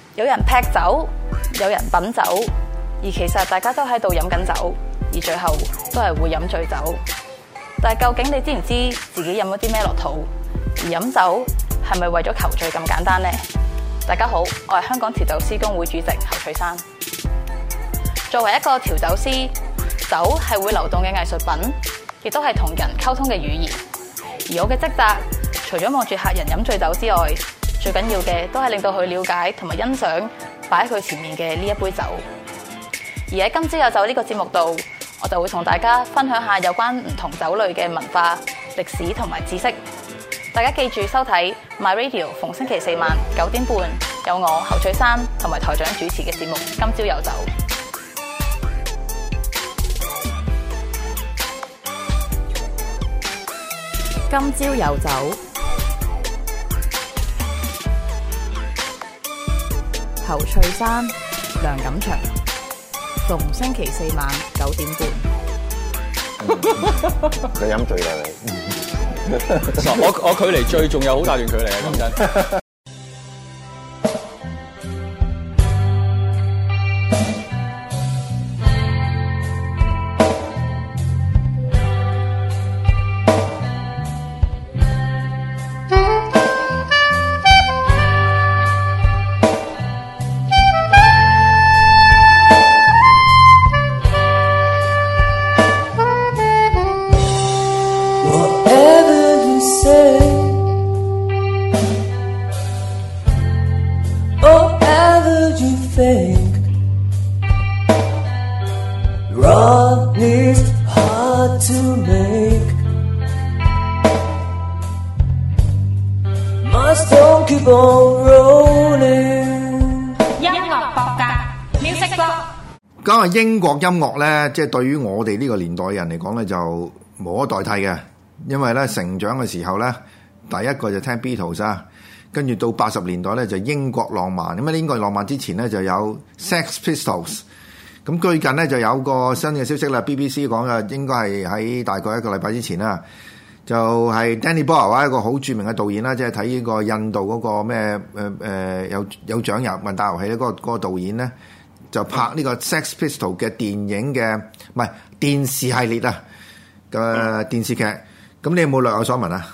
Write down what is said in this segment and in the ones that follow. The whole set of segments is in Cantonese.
有人劈酒，有人品酒，而其實大家都喺度飲緊酒，而最後都係會飲醉酒。但係究竟你知唔知自己飲咗啲咩落肚？而飲酒係咪為咗求醉咁簡單呢？大家好，我係香港調酒師公會主席侯翠珊。作為一個調酒師，酒係會流動嘅藝術品，亦都係同人溝通嘅語言。而我嘅職責，除咗望住客人飲醉酒之外，最緊要嘅都係令到佢了解同埋欣賞擺喺佢前面嘅呢一杯酒。而喺今朝有酒呢個節目度，我就會同大家分享下有關唔同酒類嘅文化、歷史同埋知識。大家記住收睇 My Radio， 逢星期四晚9點半有我侯翠珊同埋台長主持嘅節目《今朝有酒》。今朝有酒，侯翠珊、梁錦祥，逢星期四晚9點半。 佢飲醉啦你。 我距離醉仲有好大段距離啊！講真。 講下英國音樂咧，即係對於我哋呢個年代嘅人嚟講咧，就無可代替嘅。因為咧成長嘅時候咧，第一個就聽 Beatles 啊，跟住到80年代咧就英國浪漫。咁啊，英國浪漫之前咧就有 Sex Pistols。咁最近咧就有個新嘅消息啦 ，BBC 講嘅應該係喺大概一個禮拜之前啦，就係 Danny Boyle 一個好著名嘅導演啦，即係睇呢個印度嗰個咩有獎遊問答遊戲咧，嗰個導演咧。就拍呢個 Sex Pistol 嘅電影嘅，唔係電視系列啊嘅電視劇。咁你有冇略有所聞啊？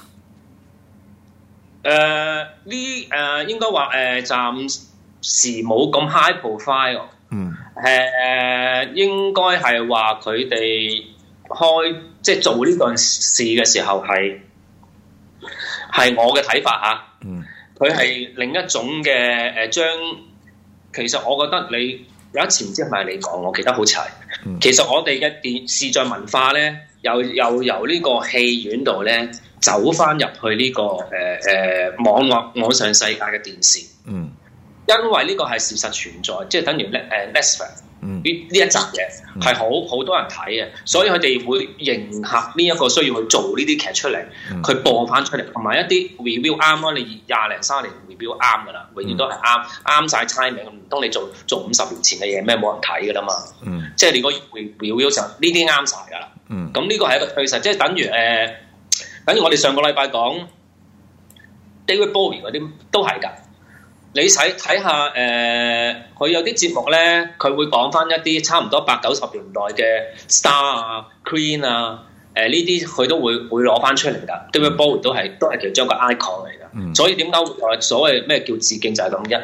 應該話暫時冇咁 high profile。應該係話佢哋即係做呢件事嘅時候係我嘅睇法嚇。佢係另一種嘅將，其實我覺得你。有一次唔知係咪你講，我記得好似係。其實我哋嘅視像文化咧，又由呢個戲院度咧走翻入去呢個網上世界嘅電視。因為呢個係事實存在，即係等於Netflix 呢一集嘢係好多人睇嘅，所以佢哋會迎合呢一個需要去做呢啲劇出嚟，佢播翻出嚟，同埋一啲 review 啱咯。你20零30年 review 啱噶啦，永遠都係啱晒 timing。唔通你做50年前嘅嘢咩冇人睇噶啦嘛？即係你個 review 就呢啲啱晒噶啦。咁呢個係一個趨勢，即係等於我哋上個禮拜講 David Bowie 嗰啲都係㗎。你睇下佢有啲節目咧，佢會講翻一啲差唔多80-90年代嘅 Star 啊、Queen 啊，呢啲佢都會攞翻出嚟㗎。David Bowie 都係其中一個 icon 嚟㗎。所以點解會所謂咩叫致敬就係咁一？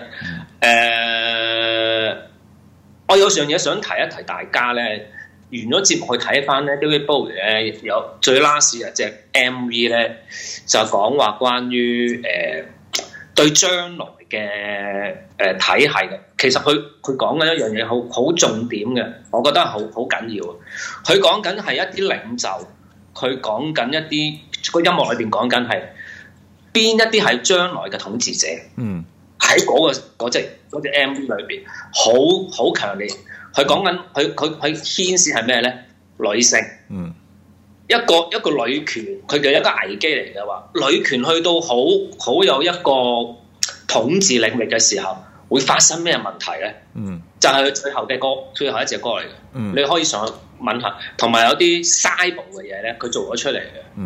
我有樣嘢想提一提大家咧，完咗節目去睇翻咧 David Bowie 咧有最 last 一隻 MV 咧，就講話關於對將來嘅體系嘅，其實佢講緊一樣嘢好重點嘅，我覺得好緊要。佢講緊係一啲領袖，佢講緊一啲個音樂裏邊講緊係邊一啲係將來嘅統治者。喺嗰隻 MV 裏邊好強烈。佢講緊佢牽涉係咩咧？女性。一個女權，佢嘅一個危機嚟嘅話，女權去到好有一個統治領域嘅時候，會發生咩問題咧？就係佢最後一隻歌嚟嘅。你可以上去問下，同埋有啲 cyber 嘅嘢咧，佢做咗出嚟嘅。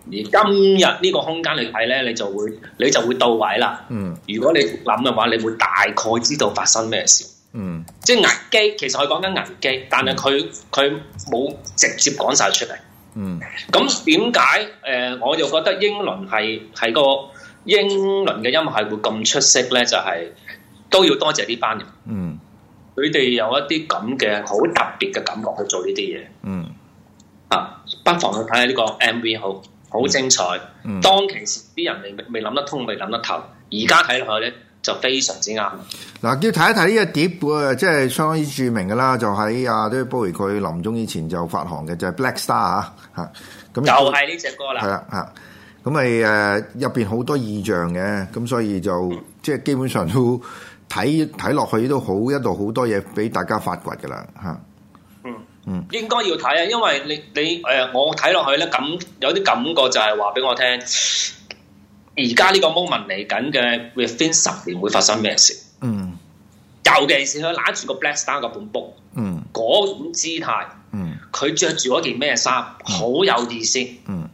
而今日呢個空間嚟睇咧，你就會到位啦。如果你諗嘅話，你會大概知道發生咩事。即係危機，其實佢講緊危機，但係佢冇直接講晒出嚟。咁點解我就覺得英倫係個英倫嘅音樂係會咁出色咧？就係、都要多謝呢班人。佢哋有一啲咁嘅好特別嘅感覺去做呢啲嘢。不妨去睇下呢個 MV，好精彩。當其時啲人未諗得通，未諗得透，而家睇落去咧就非常之啱。 嗱，要睇一睇呢個碟即係相當於著名嘅啦，就喺David Bowie佢臨終以前就發行嘅，就係 Black Star 咁就係呢隻歌啦。 係啦咁咪入邊好多意象嘅，咁所以就即係基本上都睇落去都好一度好多嘢俾大家發掘㗎啦應該要睇啊，因為你我睇落去咧，咁有啲感覺就係話俾我聽，而家呢個 moment 嚟緊嘅 within 10年會發生咩事？尤其是佢揦住個 Black Star 個本 book，嗰種姿態，佢着住嗰件咩衫，好有意思。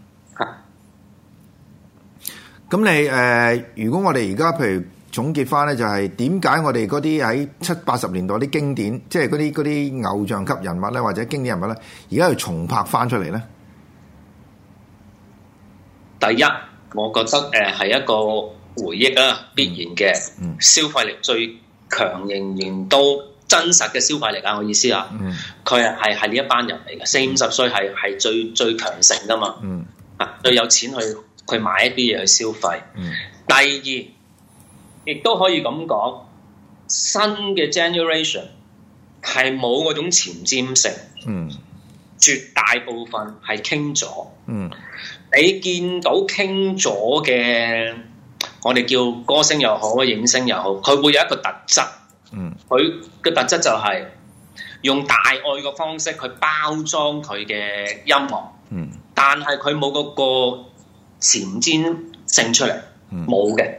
咁你如果我哋而家譬如總結翻咧，就係點解我哋嗰啲喺70、80年代啲經典，即係嗰啲偶像級人物咧，或者經典人物咧，而家要重拍翻出嚟咧？ 第一，我覺得係一個回憶啦，必然嘅消費力最強，仍然都真實嘅消費力啊！我意思啊，佢係呢一班人嚟嘅，40、50歲係最強盛噶嘛，最有錢去買一啲嘢去消費。第二，亦都可以咁講，新嘅 generation 係冇嗰種前瞻性，絕大部分係傾咗。你見到傾咗嘅，我哋叫歌星又好，影星又好，佢會有一個特質。佢嘅特質就係用大愛嘅方式去包裝佢嘅音樂。但係佢冇嗰個前瞻性出嚟，冇嘅。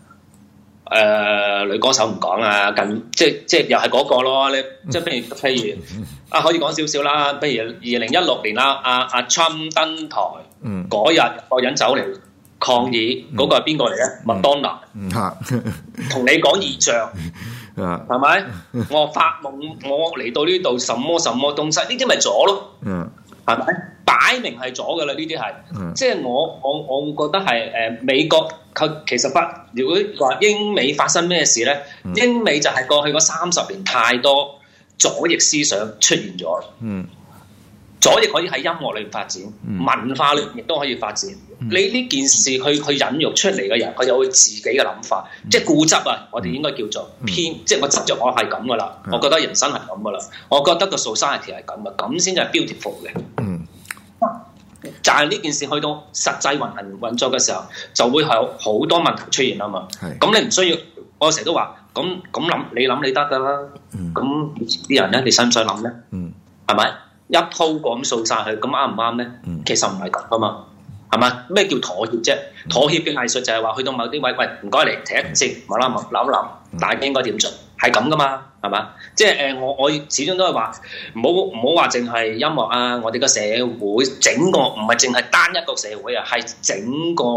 女歌手唔講啊，即係又係嗰個咯。你即係譬如可以講少少啦。譬如2016年啦，阿 Trump 登台嗰日，個人走嚟抗議，嗰個係邊個嚟咧？麥當娜。同你講異象，係咪？我發夢，我嚟到呢度，什麼什麼東西？呢啲咪咗咯？係咪？擺明係咗噶啦，呢啲係，即係我會覺得係美國佢其實如果話英美發生咩事咧，英美就係過去嗰30年太多左翼思想出現咗。左翼可以喺音樂裏面發展，文化裏面亦都可以發展。你呢件事去引育出嚟嘅人，佢有佢自己嘅諗法，即係固執啊！我哋應該叫做偏，即係我執着我係咁噶啦，我覺得人生係咁噶啦，我覺得個 society 係咁嘅，咁先至係 beautiful 嘅。就係呢件事去到實際運作嘅時候，就會有好多問題出現啊嘛。咁你唔需要，我成日都話，咁諗你諗你得噶啦。咁以前啲人咧，你使唔使諗咧？係咪一鋪過咁掃晒佢？咁啱唔啱咧？其實唔係咁啊嘛，係咪？咩叫妥協啫？妥協嘅藝術就係話去到某啲位，喂，唔該嚟停一停先，諗，大家應該點做？係咁噶嘛，係嘛？即係我始終都係話，唔好話淨係音樂啊！我哋個社會整個唔係淨係單一個社會啊，係整個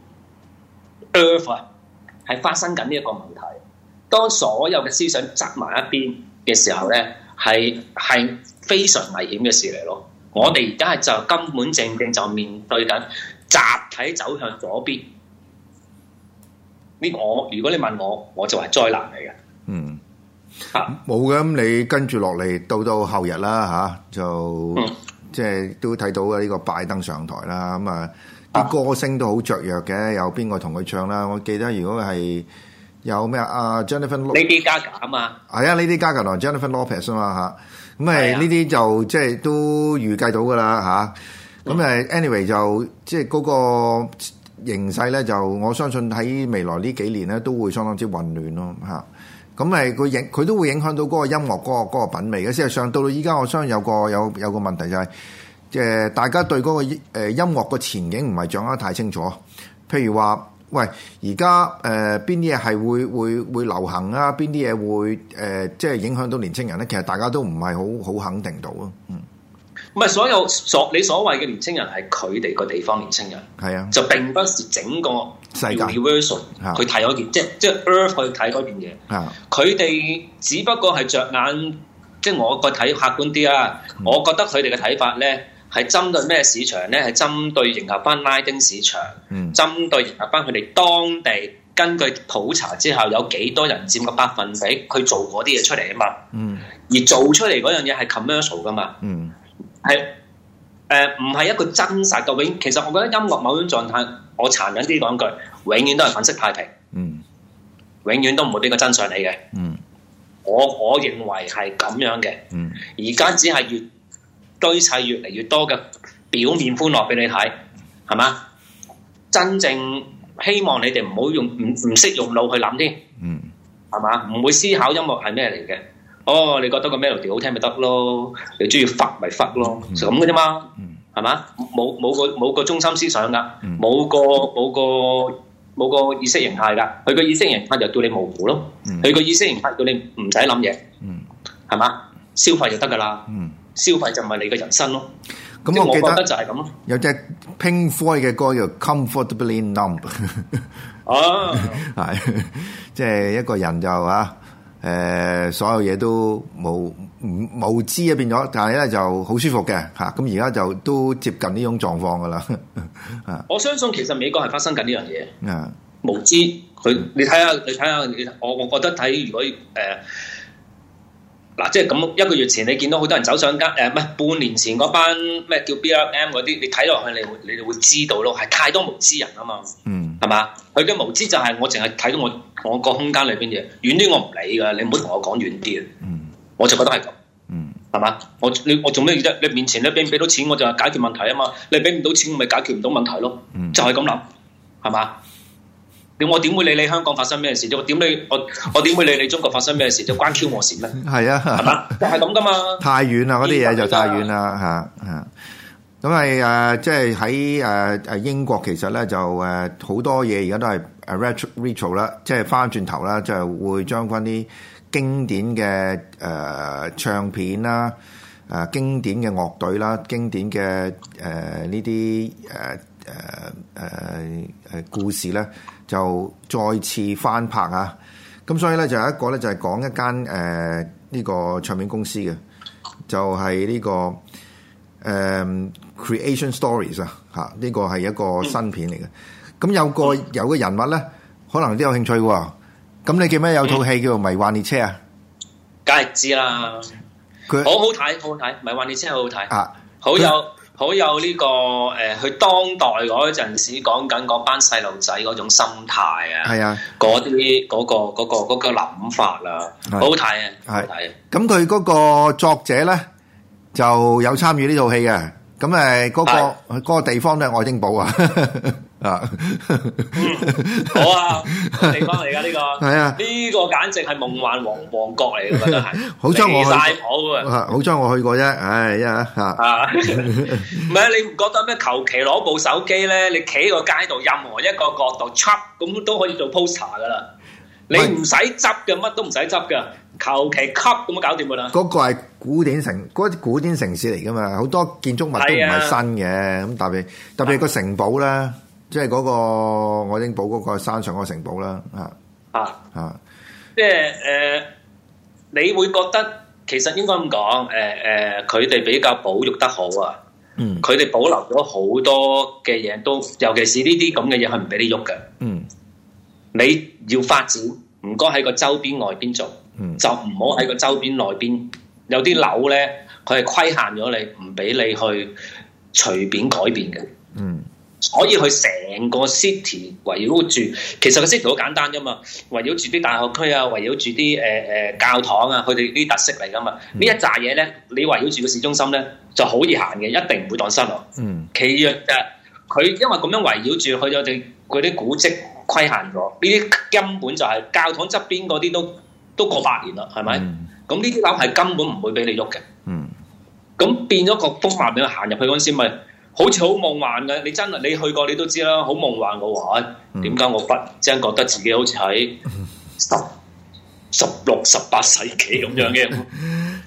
Earth 啊，係發生緊呢一個問題。當所有嘅思想擠埋一邊嘅時候咧，係非常危險嘅事嚟咯。我哋而家係就根本正就面對緊集體走向左邊。呢個如果你問我就係災難嚟嘅。 冇嘅，咁你跟住落嚟到後日啦就即係都睇到呢個拜登上台啦，咁啲歌星都好雀躍嘅，有邊個同佢唱啦？我記得如果係有咩Jennifer Lady Gaga 啊嘛， 係啊，Lady Gaga 同 Jennifer Lopez 啊嘛咁呢啲就即係都預計到噶啦咁anyway 就即係嗰個形勢咧，就我相信喺未來呢幾年咧都會相當之混亂咯咁佢都會影響到嗰個音樂嗰個品味嘅。事實上到依家，我相信有個問題就係，即係大家對嗰個音樂個前景唔係掌握得太清楚。譬如話，喂，而家邊啲嘢係會流行啊？邊啲嘢會即係影響到年青人咧？其實大家都唔係好肯定到咯。 唔係你所謂嘅年青人係佢哋個地方年青人， 係啊， 就並不是整個世界 universal 去睇嗰件，即係 Earth 去睇嗰件嘢。佢哋只不過係着眼，即係我個睇客觀啲啊。我覺得佢哋嘅睇法咧係針對咩市場咧？係針對迎合翻拉丁市場，針對迎合翻佢哋當地。根據普查之後，有幾多人佔個百分比，佢做嗰啲嘢出嚟啊嘛。而做出嚟嗰樣嘢係 commercial 噶嘛。係唔係一個真實嘅永？其實我覺得音樂某種狀態，我殘忍啲講句，永遠都係粉飾太平。永遠都唔會俾個真相你嘅。我認為係咁樣嘅。而家只係越堆砌越嚟越多嘅表面歡樂俾你睇，係嘛？真正希望你哋唔好用唔識用腦去諗添，係嘛？唔會思考音樂係咩嚟嘅。哦，你覺得個 melody 好聽咪得咯？你中意忽咪忽咯，就咁嘅啫嘛，係嘛？冇個中心思想㗎，冇個意識形態㗎。佢個意識形態就叫你模糊咯，佢個意識形態叫你唔使諗嘢，係嘛？消費就得㗎啦，消費就唔係你嘅人生咯。咁我覺得就係咁咯。有隻 Pink Floyd 嘅歌叫 Comfortably Numb。 哦， 係，即係一個人就所有嘢都無知啊變咗，但係咧就好舒服嘅嚇。咁而家就都接近呢種狀況噶啦。 我相信其實美國係發生緊呢樣嘢。無知你睇下，我覺得睇如果嗱，即係咁一個月前你見到好多人走上街，唔係半年前嗰班咩叫 BLM 嗰啲，你睇落去你哋會知道咯，係太多無知人啊嘛，係嘛？佢嘅無知就係我淨係睇到我個空間裏邊嘢，遠啲我唔理㗎，你唔好同我講遠啲啊，我就覺得係咁，係嘛？我做咩啫？你面前你俾唔俾到錢我就係解決問題啊嘛，你俾唔到錢我咪解決唔到問題咯，就係咁諗，係嘛？我點會理你香港發生咩事啫？我點會理你中國發生咩事？就關 Q 我事咩？係啊，係嘛？就係咁噶嘛。太遠啦，嗰啲嘢就太遠啦嚇。咁係即係喺英國其實咧就好多嘢而家都係retro 啦，即係翻轉頭啦，就係會將翻啲經典嘅唱片啦、經典嘅樂隊啦、經典嘅呢啲故事咧。就再次翻拍啊！咁所以咧就有一個咧就係講一間呢個唱片公司嘅，就係呢個Creation Stories 啊嚇！呢個係一個新片嚟嘅。咁有個人物咧，可能都有興趣喎。咁你記唔記得有套戲叫做《迷幻列車》啊？梗係知啦，佢好好睇，好好睇，《迷幻列車》好好睇啊！好有呢個佢當代嗰陣時講緊嗰班細路仔嗰種心態啊，係啊，嗰啲嗰個諗法啦，好好睇啊，好睇。 咁佢嗰個作者咧就有參與呢套戲嘅，咁嗰個地方都係愛丁堡啊， 好啊，地方嚟㗎呢個，係啊，呢個簡直係夢幻王國嚟嘅，真係。 好彩我去， 好彩我去過啫，唉，唔係你唔覺得咩？求其攞部手機咧，你企喺個街度，任何一個角度插咁都可以做 poster 㗎啦。你唔使執嘅，乜都唔使執嘅，求其吸咁就搞掂㗎啦。 嗰個係古典城市嚟㗎嘛，好多建築物都唔係新嘅，咁特別個城堡咧。即係嗰個愛丁堡嗰個山上嗰個城堡啦， 即係你會覺得其實應該咁講，佢哋比較保育得好啊，佢哋保留咗好多嘅嘢，都尤其是呢啲咁嘅嘢係唔俾你喐嘅，你要發展，唔該喺個周邊外邊做，就唔好喺個周邊內邊，有啲樓咧，佢係規限咗你，唔俾你去隨便改變嘅，所以佢成個 city 圍繞住，其實個 city 好簡單啫嘛，圍繞住啲大學區啊，圍繞住啲教堂啊，佢哋啲特色嚟噶嘛。呢一紮嘢咧，你圍繞住個市中心咧，就好易行嘅，一定唔會蕩失路。其二佢因為咁樣圍繞住，佢有哋嗰啲古蹟規限咗，呢啲根本就係教堂側邊嗰啲都過百年啦，係咪？咁呢啲樓係根本唔會俾你喐嘅。咁變咗個風貌，俾佢行入去嗰陣時咪。好似好夢幻嘅，你真係你去過你都知啦，好夢幻嘅話，點解我忽然之間覺得自己好似喺16、18世紀咁樣嘅？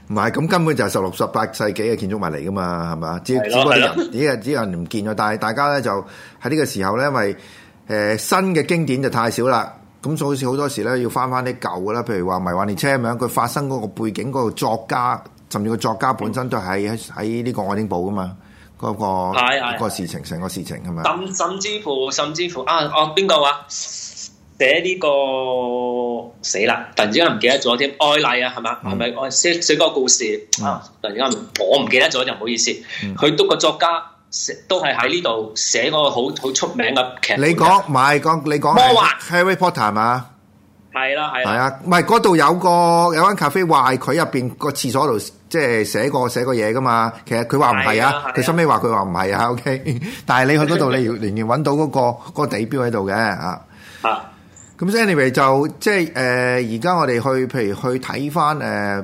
唔係，咁根本就係16、18世紀嘅建築物嚟噶嘛，係嘛？只不過啲人唔見咗，但係大家咧就喺呢個時候咧，因為新嘅經典就太少啦，咁所以好多時咧要翻啲舊嘅啦，譬如話迷幻列車咁樣，佢發生嗰個背景嗰個作家，甚至個作家本身都係喺呢個愛丁堡噶嘛，嗰個事情成個事情係咪？ 甚至乎邊個話？寫呢個死啦！突然之間唔記得咗添，愛麗啊，係嘛？係咪我寫嗰個故事啊？突然間我唔記得咗就唔好意思。佢都個作家都係喺呢度寫嗰個好出名嘅劇。你講魔幻 Harry Potter 係嘛？ 係係啊，唔係嗰度有間咖啡話佢入邊個廁所度即係寫過嘢噶嘛。其實佢話唔係啊，佢收尾話佢話唔係啊。OK， 但係你去嗰度你仍然揾到嗰個地標喺度嘅啊。咁 anyway 就即係而家我哋譬如去睇翻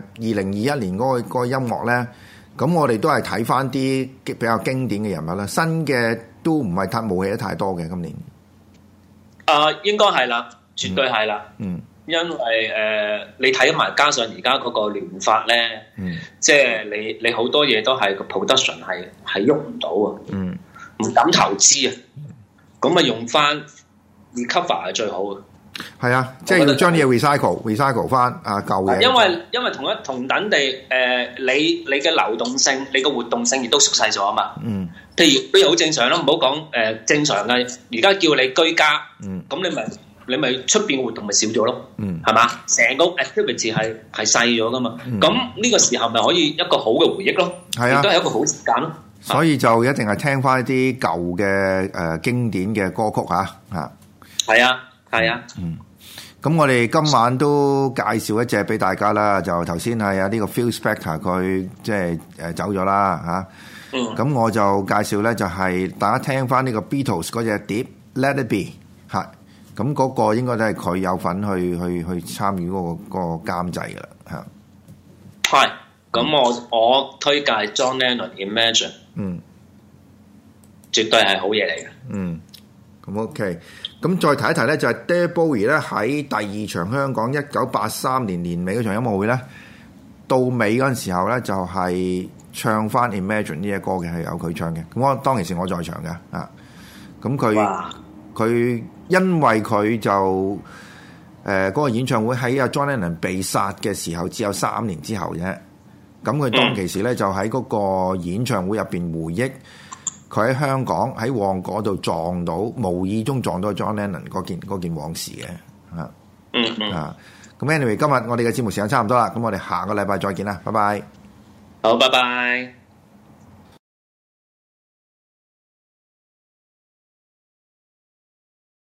2021年嗰個音樂咧，咁我哋都係睇翻啲比較經典嘅人物啦，新嘅都唔係冇起得太多嘅今年。 應該係啦，絕對係啦。因為你睇埋加上而家嗰個聯發咧，即係你好多嘢都係個 production 係喐唔到啊，唔敢投資啊，咁啊用翻 recover 係最好嘅。 係啊，即係要將啲嘢 recycle 翻舊嘢。 因為同等地你嘅流動性、你嘅活動性亦都縮細咗啊嘛。譬如好正常咯，唔好講正常嘅。而家叫你居家，咁你咪出邊嘅活動咪少咗咯。係嘛？成個 activity 係細咗噶嘛。咁呢個時候咪可以一個好嘅回憶咯。係啊，亦都係一個好時間咯。 所以就一定係聽翻一啲舊嘅經典嘅歌曲嚇。 係啊。係啊， 咁我哋今晚都介紹一隻俾大家啦，就頭先係呢個 Phil Spector 佢即係走咗啦嚇，咁我就介紹咧就係大家聽翻呢個 Beatles 嗰隻碟 Let It Be 嚇，咁嗰個應該都係佢有份去參與嗰個監製噶啦嚇。 係，咁我推介 John Lennon Imagine，絕對係好嘢嚟嘅。 咁 OK。咁再提一提咧，就係 David Bowie 咧喺第二場香港1983年年尾嗰場音樂會咧，到尾嗰陣時候咧就係唱翻 Imagine 呢隻歌嘅，係有佢唱嘅。咁我當其時我在場嘅啊，咁佢因為佢就嗰個演唱會喺阿 John Lennon 被殺嘅時候只有3年之後啫，咁佢當其時咧就喺嗰個演唱會入邊回憶。佢喺香港喺旺角度撞到，無意中撞到 John Lennon 嗰件往事嘅，咁 anyway 今日我哋嘅節目時間差唔多啦，咁我哋下個禮拜再見啦，拜拜。 好，拜拜。